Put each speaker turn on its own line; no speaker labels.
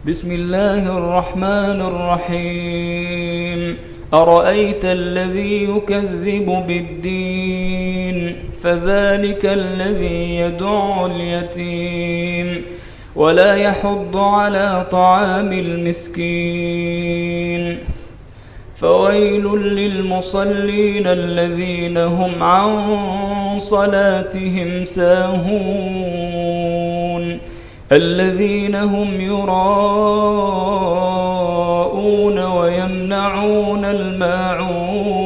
بسم الله الرحمن الرحيم أرأيت الذي يكذب بالدين فذلك الذي يدع اليتيم ولا يحض على طعام المسكين فويل للمصلين الذين هم عن صلاتهم ساهون الذين هم يراءون ويمنعون الماعون